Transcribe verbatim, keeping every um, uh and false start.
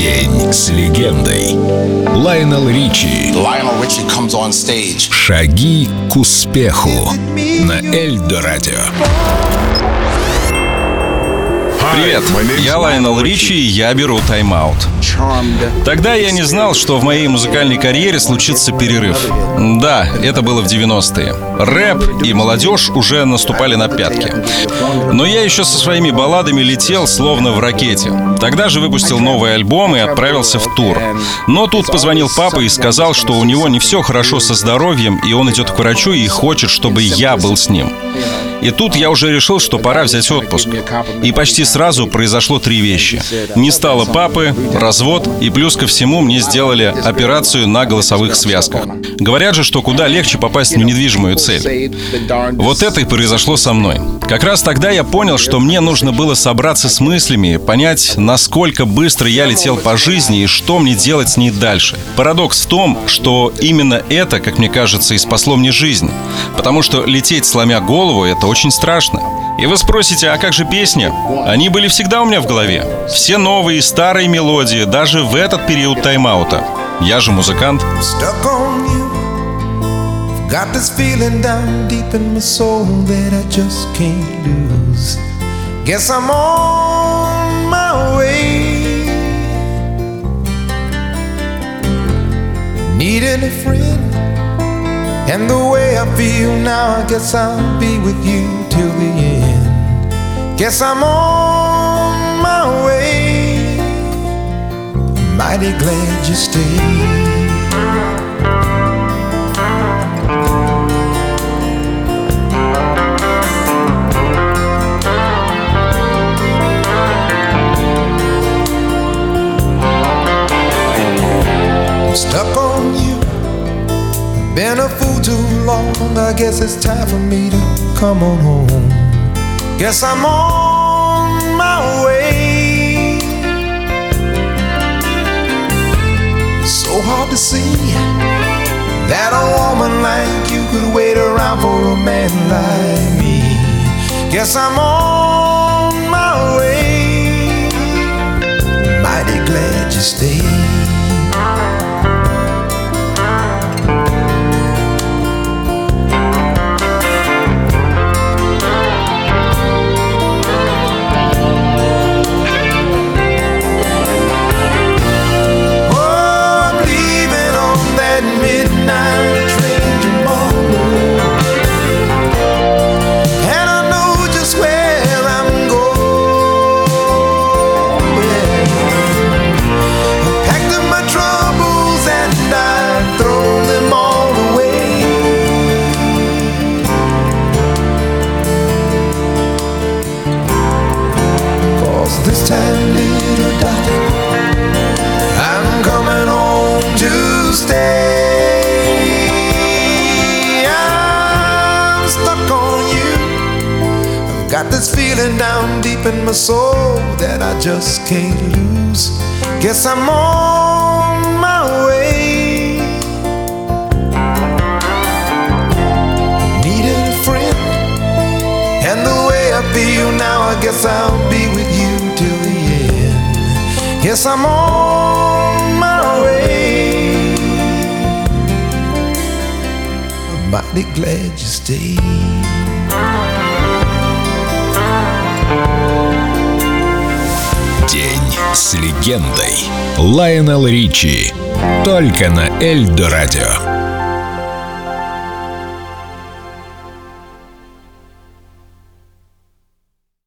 День с легендой. Лайонел Ричи. Lionel Richie comes on stage. Шаги к успеху на Эльдо Радио. Привет, я Лайонел Ричи, и я беру тайм-аут. Тогда я не знал, что в моей музыкальной карьере случится перерыв. Да, это было в девяностые. Рэп и молодежь уже наступали на пятки. Но я еще со своими балладами летел, словно в ракете. Тогда же выпустил новый альбом и отправился в тур. Но тут позвонил папа и сказал, что у него не все хорошо со здоровьем, и он идет к врачу и хочет, чтобы я был с ним. И тут я уже решил, что пора взять отпуск. И почти сразу произошло три вещи. Не стало папы, развод, и плюс ко всему мне сделали операцию на голосовых связках. Говорят же, что куда легче попасть в недвижимую цель. Вот это и произошло со мной. Как раз тогда я понял, что мне нужно было собраться с мыслями, понять, насколько быстро я летел по жизни и что мне делать с ней дальше. Парадокс в том, что именно это, как мне кажется, и спасло мне жизнь. Потому что лететь, сломя голову, это очень страшно. И вы спросите, а как же песни? Они были всегда у меня в голове. Все новые и старые мелодии, даже в этот период тайм-аута. Я же музыкант. Got this feeling down deep in my soul that I just can't lose. Guess I'm on my way. Needing a friend, and the way I feel now, I guess I'll be with you till the end. Guess I'm on my way. Mighty glad you stayed. Stuck on you, been a fool too long. I guess it's time for me to come on home. Guess I'm on my way. So hard to see that a woman like you could wait around for a man like me. Guess I'm on my way. Mighty glad you stayed. This time, little darling, I'm coming home to stay. I'm stuck on you. I've got this feeling down deep in my soul that I just can't lose. Guess I'm on my way. Needed a friend, and the way I feel now, I guess I'll be with you till the end. Yes, I'm on my way. I'm mighty glad you stayed. День с легендой. Лайонел Ричи. Только на Эльдо Радио.